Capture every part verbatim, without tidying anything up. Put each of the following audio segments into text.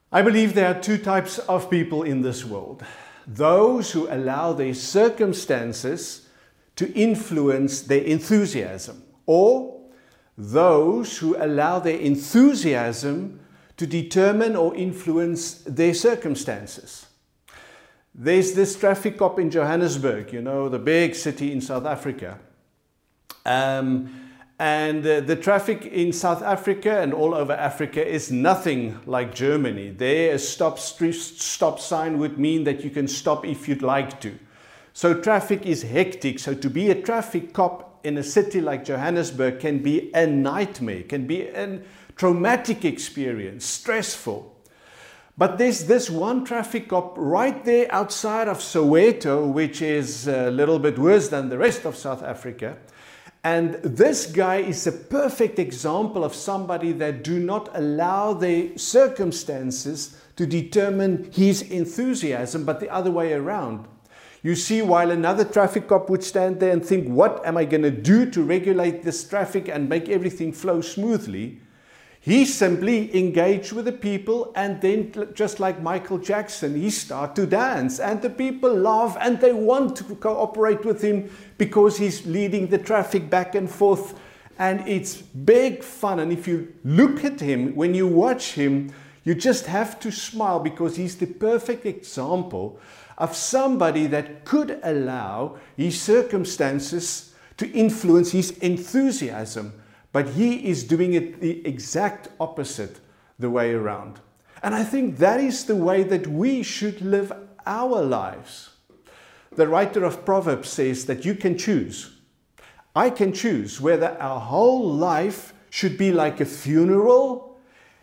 I believe there are two types of people in this world. Those who allow their circumstances to influence their enthusiasm, or those who allow their enthusiasm to determine or influence their circumstances. There's this traffic cop in Johannesburg, you know, the big city in South Africa. Um, And uh, the traffic in South Africa and all over Africa is nothing like Germany. There, a stop, street, stop sign would mean that you can stop if you'd like to. So traffic is hectic. So to be a traffic cop in a city like Johannesburg can be a nightmare, can be a traumatic experience, stressful. But there's this one traffic cop right there outside of Soweto, which is a little bit worse than the rest of South Africa. And this guy is a perfect example of somebody that do not allow their circumstances to determine his enthusiasm, but the other way around. You see, while another traffic cop would stand there and think, what am I going to do to regulate this traffic and make everything flow smoothly? He simply engaged with the people, and then, just like Michael Jackson, he started to dance, and the people laugh and they want to cooperate with him because he's leading the traffic back and forth, and it's big fun. And if you look at him, when you watch him, you just have to smile, because he's the perfect example of somebody that could allow his circumstances to influence his enthusiasm. But he is doing it the exact opposite the way around. And I think that is the way that we should live our lives. The writer of Proverbs says that you can choose. I can choose whether our whole life should be like a funeral,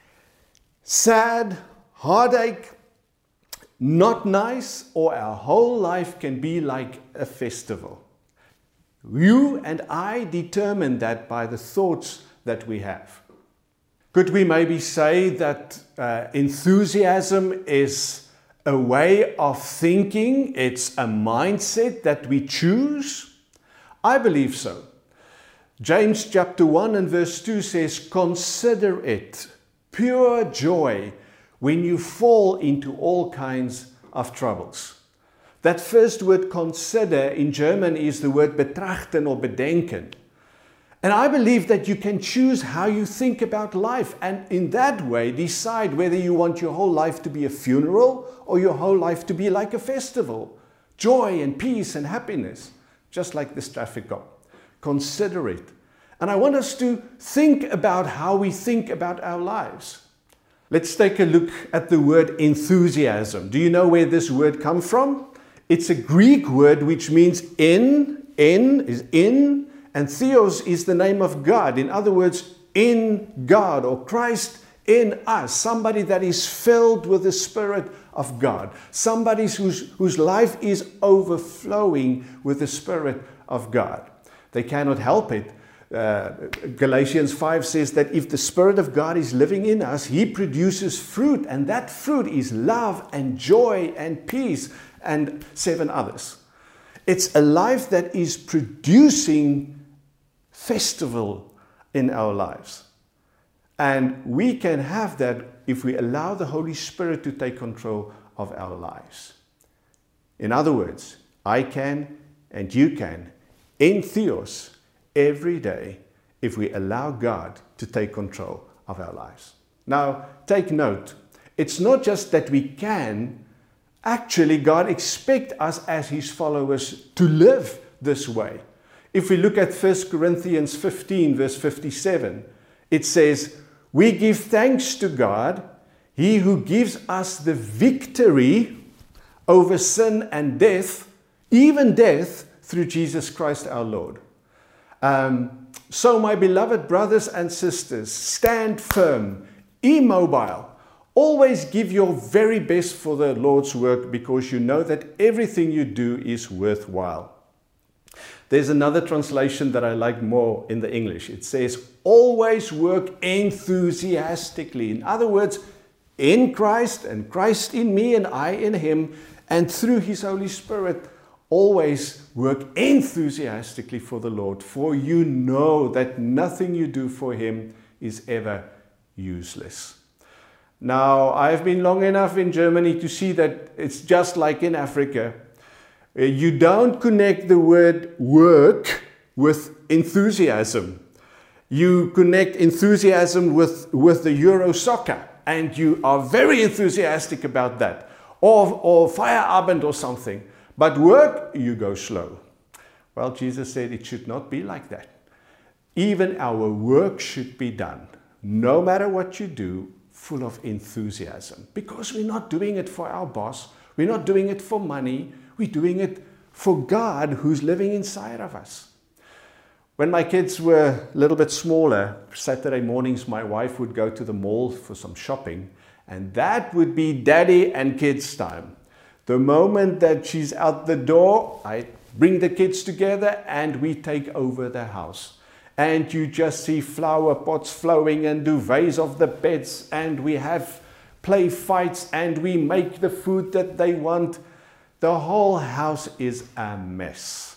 sad, heartache, not nice, or our whole life can be like a festival. You and I determine that by the thoughts that we have. Could we maybe say that uh, enthusiasm is a way of thinking? It's a mindset that we choose? I believe so. James chapter one and verse two says, "Consider it pure joy when you fall into all kinds of troubles." That first word consider in German is the word betrachten or bedenken. And I believe that you can choose how you think about life, and in that way decide whether you want your whole life to be a funeral or your whole life to be like a festival. Joy and peace and happiness, just like this traffic cop. Consider it. And I want us to think about how we think about our lives. Let's take a look at the word enthusiasm. Do you know where this word comes from? It's a Greek word which means in, in is in, and theos is the name of God. In other words, in God, or Christ in us. Somebody that is filled with the Spirit of God. Somebody whose, whose life is overflowing with the Spirit of God. They cannot help it. Uh, Galatians five says that if the Spirit of God is living in us, He produces fruit, and that fruit is love and joy and peace and seven others. It's a life that is producing festival in our lives. And we can have that if we allow the Holy Spirit to take control of our lives. In other words, I can and you can, in theos, every day, if we allow God to take control of our lives. Now, take note, it's not just that we can. Actually, God expects us as His followers to live this way. If we look at First Corinthians fifteen, verse fifty-seven, it says, "We give thanks to God, He who gives us the victory over sin and death, even death, through Jesus Christ our Lord." Um, so, my beloved brothers and sisters, stand firm, immobile. Always give your very best for the Lord's work, because you know that everything you do is worthwhile. There's another translation that I like more in the English. It says, always work enthusiastically. In other words, in Christ, and Christ in me and I in Him, and through His Holy Spirit, always work enthusiastically for the Lord, for you know that nothing you do for Him is ever useless. Now, I've been long enough in Germany to see that it's just like in Africa. You don't connect the word work with enthusiasm. You connect enthusiasm with, with the Euro soccer, and you are very enthusiastic about that. Or, or Feierabend or something. But work, you go slow. Well, Jesus said it should not be like that. Even our work should be done, no matter what you do, full of enthusiasm. Because we're not doing it for our boss. We're not doing it for money. We're doing it for God who's living inside of us. When my kids were a little bit smaller, Saturday mornings my wife would go to the mall for some shopping, and that would be daddy and kids time. The moment that she's out the door, I bring the kids together and we take over the house. And you just see flower pots flowing and duvets of the beds, and we have play fights and we make the food that they want. The whole house is a mess.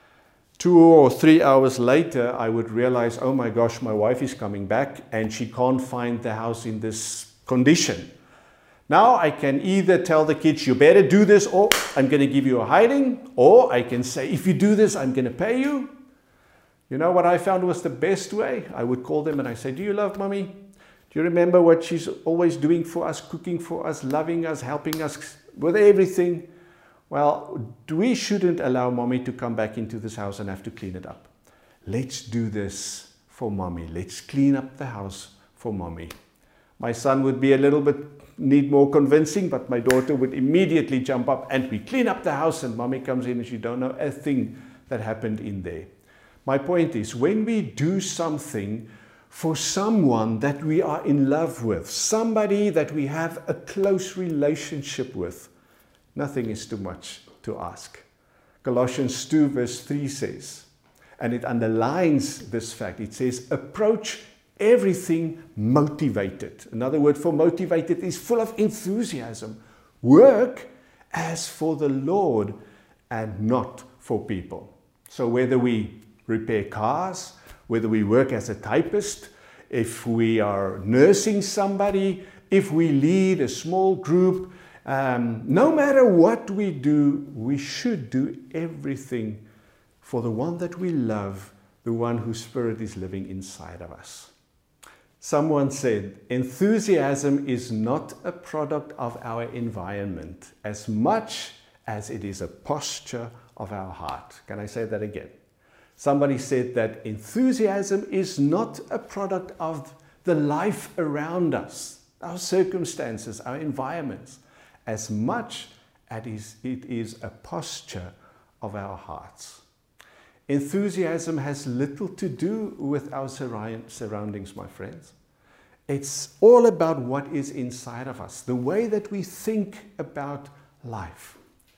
Two or three hours later, I would realize, oh my gosh, my wife is coming back and she can't find the house in this condition. Now I can either tell the kids, you better do this, or I'm going to give you a hiding, or I can say, if you do this, I'm going to pay you. You know what I found was the best way? I would call them and I say, do you love mommy? Do you remember what she's always doing for us, cooking for us, loving us, helping us with everything? Well, we shouldn't allow mommy to come back into this house and have to clean it up. Let's do this for mommy. Let's clean up the house for mommy. My son would be a little bit, need more convincing, but my daughter would immediately jump up and we clean up the house and mommy comes in and she don't know a thing that happened in there. My point is, when we do something for someone that we are in love with, somebody that we have a close relationship with, nothing is too much to ask. Colossians two verse three says, and it underlines this fact, it says, approach everything motivated. Another word for motivated is full of enthusiasm. Work as for the Lord and not for people. So whether we repair cars, whether we work as a typist, if we are nursing somebody, if we lead a small group, Um, no matter what we do, we should do everything for the one that we love, the one whose spirit is living inside of us. Someone said, enthusiasm is not a product of our environment as much as it is a posture of our heart. Can I say that again? Somebody said that enthusiasm is not a product of the life around us, our circumstances, our environments, as much as it is a posture of our hearts. Enthusiasm has little to do with our surroundings, my friends. It's all about what is inside of us, the way that we think about life.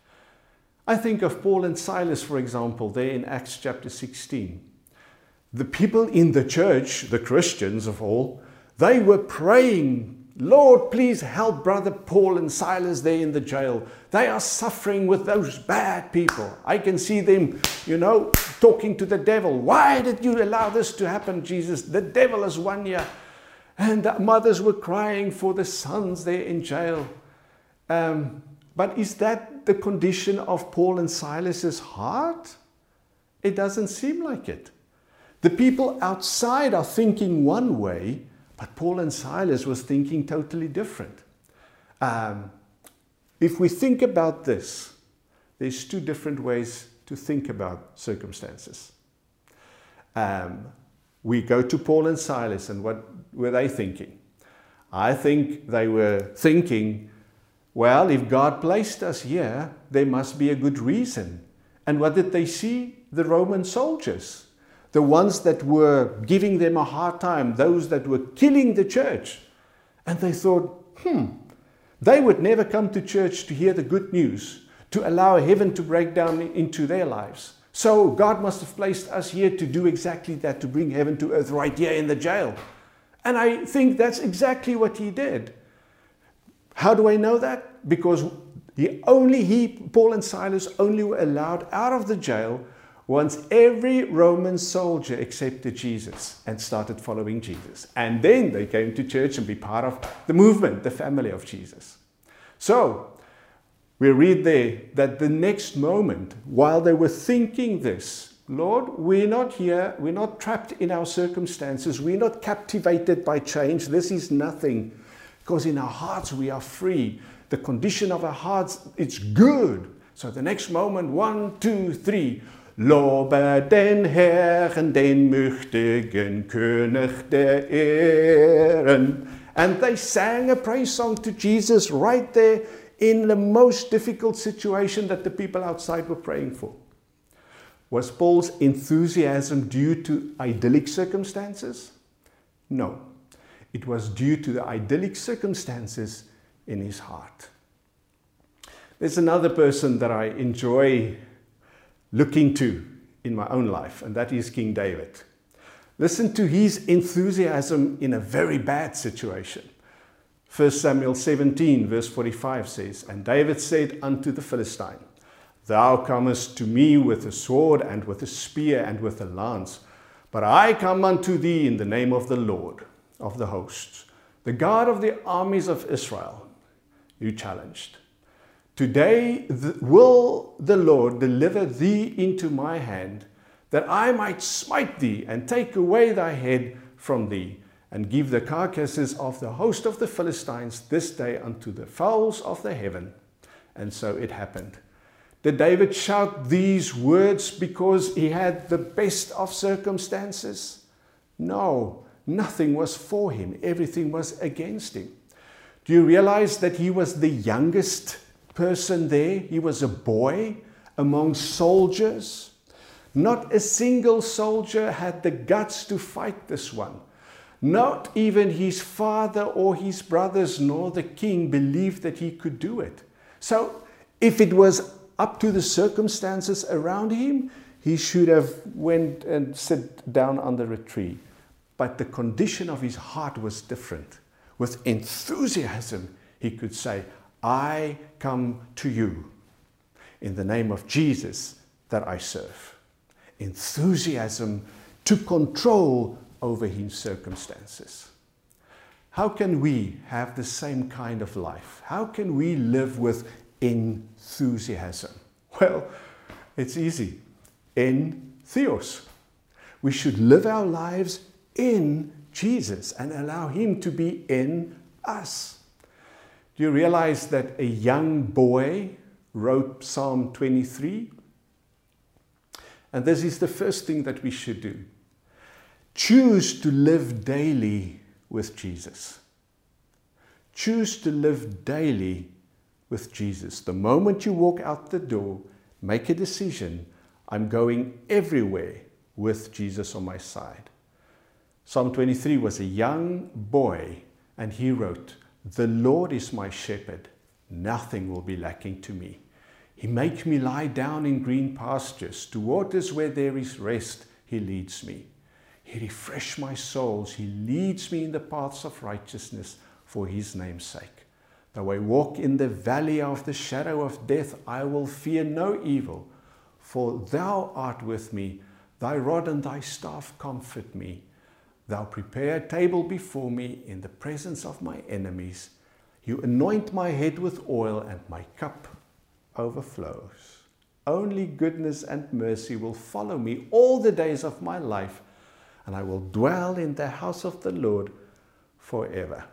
I think of Paul and Silas, for example, there in Acts chapter sixteen. The people in the church, the Christians of all, they were praying, Lord, please help brother Paul and Silas there in the jail. They are suffering with those bad people. I can see them, you know, talking to the devil. Why did you allow this to happen, Jesus? The devil has won you. And the mothers were crying for the sons there in jail. Um, but is that the condition of Paul and Silas's heart? It doesn't seem like it. The people outside are thinking one way, but Paul and Silas was thinking totally different. Um, if we think about this, there's two different ways to think about circumstances. Um, we go to Paul and Silas, and what were they thinking? I think they were thinking, well, if God placed us here, there must be a good reason. And what did they see? The Roman soldiers. The ones that were giving them a hard time, those that were killing the church. And they thought, hmm, they would never come to church to hear the good news, to allow heaven to break down into their lives. So God must have placed us here to do exactly that, to bring heaven to earth right here in the jail. And I think that's exactly what he did. How do I know that? Because he only, he, Paul and Silas only were allowed out of the jail once every Roman soldier accepted Jesus and started following Jesus. And then they came to church and be part of the movement, the family of Jesus. So, we read there that the next moment, while they were thinking this, Lord, we're not here, we're not trapped in our circumstances, we're not captivated by change, this is nothing. Because in our hearts we are free. The condition of our hearts, it's good. So the next moment, one, two, three. Lobe den Herrn, den mächtigen König der Ehren. And they sang a praise song to Jesus right there in the most difficult situation that the people outside were praying for. Was Paul's enthusiasm due to idyllic circumstances? No. It was due to the idyllic circumstances in his heart. There's another person that I enjoy looking to in my own life, and that is King David. Listen to his enthusiasm in a very bad situation. First Samuel seventeen verse forty-five says, And David said unto the Philistine, Thou comest to me with a sword and with a spear and with a lance, but I come unto thee in the name of the Lord of the hosts, the God of the armies of Israel, you challenged. Today the, will the Lord deliver thee into my hand, that I might smite thee and take away thy head from thee, and give the carcasses of the host of the Philistines this day unto the fowls of the heaven. And so it happened. Did David shout these words because he had the best of circumstances? No, nothing was for him. Everything was against him. Do you realize that he was the youngest person there? He was a boy among soldiers. Not a single soldier had the guts to fight this one. Not even his father or his brothers nor the king believed that he could do it. So if it was up to the circumstances around him, he should have went and sat down under a tree. But the condition of his heart was different. With enthusiasm, he could say, I come to you in the name of Jesus that I serve. Enthusiasm took control over his circumstances. How can we have the same kind of life? How can we live with enthusiasm? Well, it's easy. En theos. We should live our lives in Jesus and allow him to be in us. Do you realize that a young boy wrote Psalm twenty-three? And this is the first thing that we should do. Choose to live daily with Jesus. Choose to live daily with Jesus. The moment you walk out the door, make a decision. I'm going everywhere with Jesus on my side. Psalm twenty-three was a young boy, and he wrote, The Lord is my shepherd, nothing will be lacking to me. He makes me lie down in green pastures, to waters where there is rest, he leads me. He refreshes my souls, he leads me in the paths of righteousness for his name's sake. Though I walk in the valley of the shadow of death, I will fear no evil, for thou art with me, thy rod and thy staff comfort me. Thou prepare a table before me in the presence of my enemies. You anoint my head with oil, and my cup overflows. Only goodness and mercy will follow me all the days of my life, and I will dwell in the house of the Lord forever.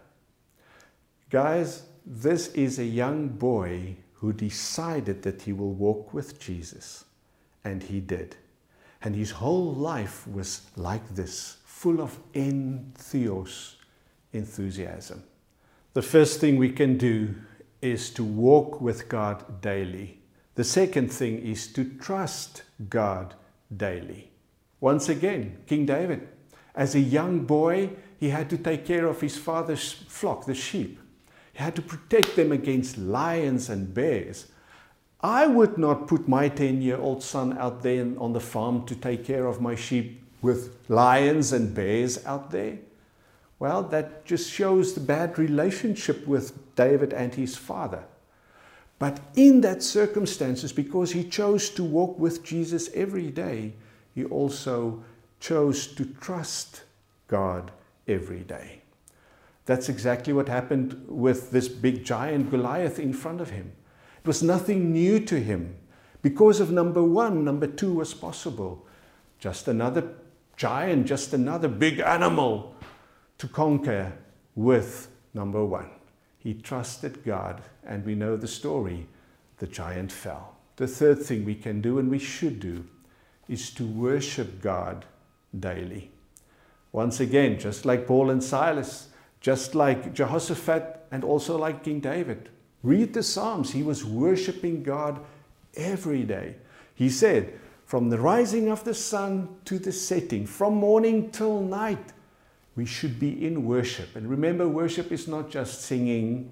Guys, this is a young boy who decided that he will walk with Jesus, and he did. And his whole life was like this, full of entheos, enthusiasm. The first thing we can do is to walk with God daily. The second thing is to trust God daily. Once again, King David, as a young boy, he had to take care of his father's flock, the sheep. He had to protect them against lions and bears. I would not put my ten-year-old son out there on the farm to take care of my sheep with lions and bears out there. Well, that just shows the bad relationship with David and his father. But in that circumstances, because he chose to walk with Jesus every day, he also chose to trust God every day. That's exactly what happened with this big giant Goliath in front of him. It was nothing new to him. Because of number one, number two was possible. Just another giant, just another big animal to conquer with number one. He trusted God, and we know the story. The giant fell. The third thing we can do, and we should do, is to worship God daily. Once again, just like Paul and Silas, just like Jehoshaphat, and also like King David. Read the Psalms. He was worshiping God every day. He said, from the rising of the sun to the setting, from morning till night, we should be in worship. And remember, worship is not just singing.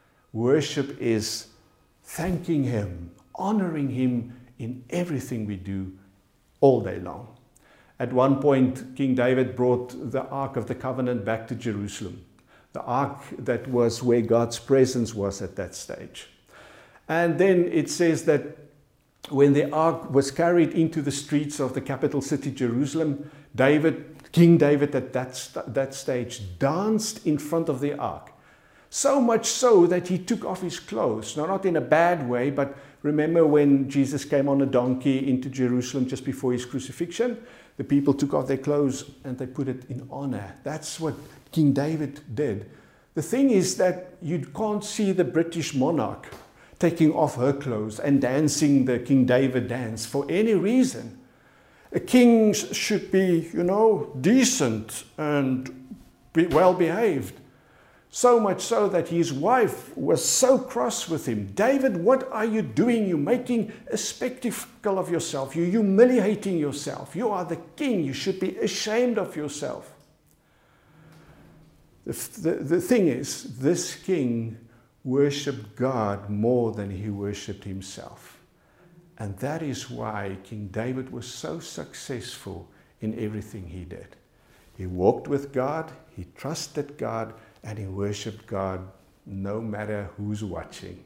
Worship is thanking Him, honoring Him in everything we do all day long. At one point, King David brought the Ark of the Covenant back to Jerusalem. The Ark that was where God's presence was at that stage. And then it says that when the Ark was carried into the streets of the capital city, Jerusalem, David, King David at that, st- that stage danced in front of the Ark. So much so that he took off his clothes. Now, not in a bad way, but remember when Jesus came on a donkey into Jerusalem just before his crucifixion? The people took off their clothes and they put it in honor. That's what King David did. The thing is that you can't see the British monarch taking off her clothes and dancing the King David dance for any reason. A king should be, you know, decent and be well behaved. So much so that his wife was so cross with him. David, what are you doing? You're making a spectacle of yourself. You're humiliating yourself. You are the king. You should be ashamed of yourself. The, the, the thing is, this king worshipped God more than he worshipped himself. And that is why King David was so successful in everything he did. He walked with God, he trusted God, and he worshipped God no matter who's watching.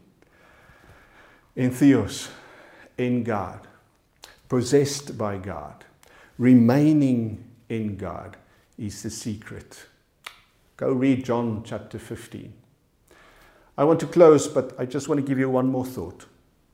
Entheos, in God, possessed by God, remaining in God is the secret. Go read John chapter fifteen. I want to close, but I just want to give you one more thought.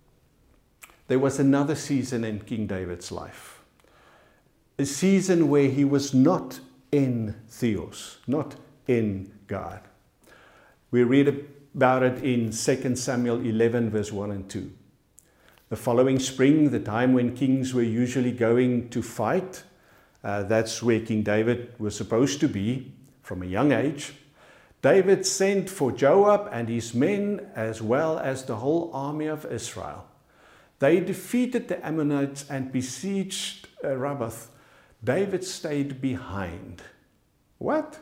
There was another season in King David's life. A season where he was not in Theos, not in God. We read about it in Second Samuel eleven, verse one and two. The following spring, the time when kings were usually going to fight, uh, that's where King David was supposed to be from a young age. David sent for Joab and his men, as well as the whole army of Israel. They defeated the Ammonites and besieged uh, Rabbah. David stayed behind. What?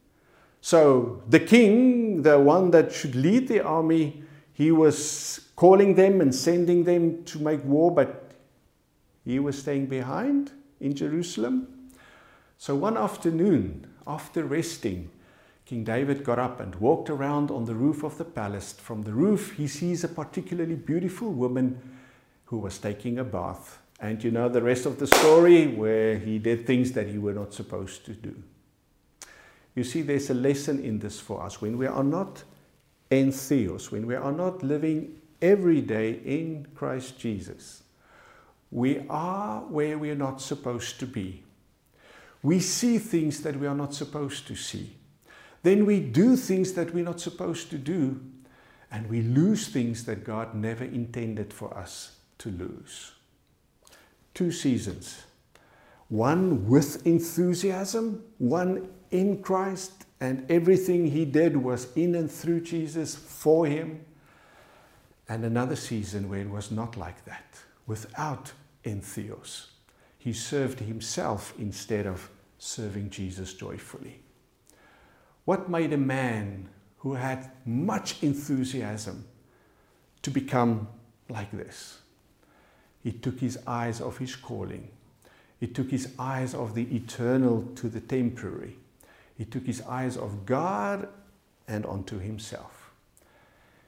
So the king, the one that should lead the army, he was calling them and sending them to make war, but he was staying behind in Jerusalem. So one afternoon, after resting, King David got up and walked around on the roof of the palace. From the roof, he sees a particularly beautiful woman who was taking a bath. And you know the rest of the story, where he did things that he were not supposed to do. You see, there's a lesson in this for us. When we are not en theos, when we are not living every day in Christ Jesus, we are where we are not supposed to be. We see things that we are not supposed to see. Then we do things that we're not supposed to do, and we lose things that God never intended for us to lose. Two seasons. One with enthusiasm, one in Christ, and everything he did was in and through Jesus for him. And another season where it was not like that, without entheos. He served himself instead of serving Jesus joyfully. What made a man who had much enthusiasm to become like this? He took his eyes off his calling. He took his eyes off the eternal to the temporary. He took his eyes off God and onto himself.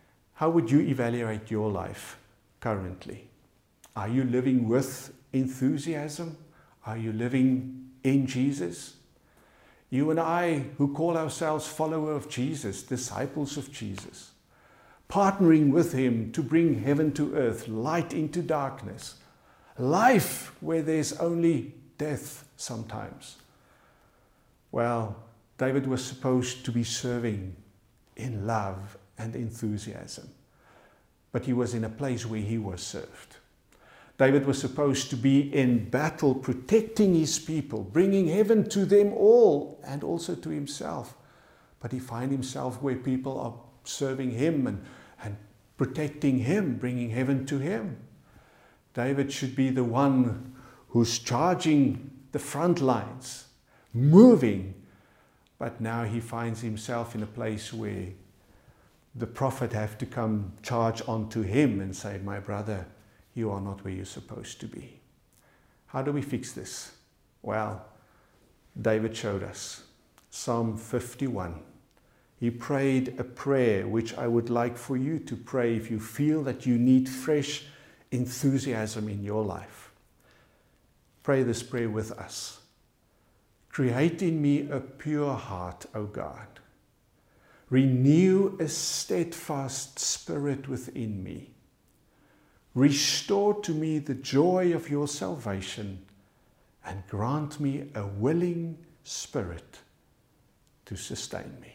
How would you evaluate your life currently? Are you living with enthusiasm? Are you living in Jesus? You and I, who call ourselves followers of Jesus, disciples of Jesus, partnering with Him to bring heaven to earth, light into darkness, life where there's only death sometimes. Well, David was supposed to be serving in love and enthusiasm, but he was in a place where he was served. David was supposed to be in battle, protecting his people, bringing heaven to them all and also to himself. But he finds himself where people are serving him and, and protecting him, bringing heaven to him. David should be the one who's charging the front lines, moving. But now he finds himself in a place where the prophet have to come charge onto him and say, my brother, you are not where you're supposed to be. How do we fix this? Well, David showed us. Psalm fifty-one. He prayed a prayer which I would like for you to pray if you feel that you need fresh enthusiasm in your life. Pray this prayer with us. Create in me a pure heart, O God. Renew a steadfast spirit within me. Restore to me the joy of your salvation and grant me a willing spirit to sustain me.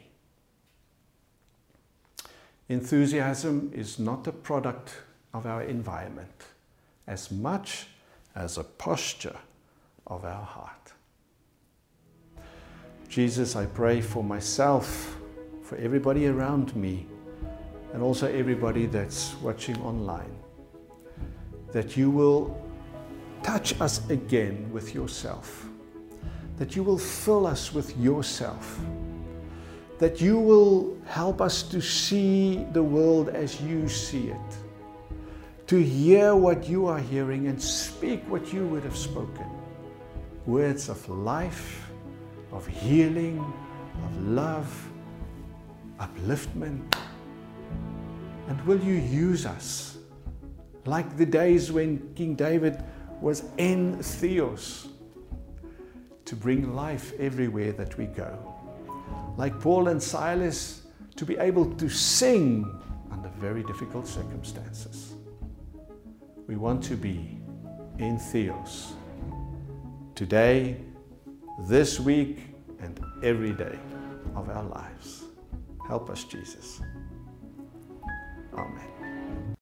Enthusiasm is not a product of our environment as much as a posture of our heart. Jesus, I pray for myself, for everybody around me, and also everybody that's watching online, that you will touch us again with yourself, that you will fill us with yourself, that you will help us to see the world as you see it, to hear what you are hearing and speak what you would have spoken. Words of life, of healing, of love, upliftment. And will you use us like the days when King David was en theos, to bring life everywhere that we go. Like Paul and Silas, to be able to sing under very difficult circumstances. We want to be en theos today, this week, and every day of our lives. Help us, Jesus. Amen.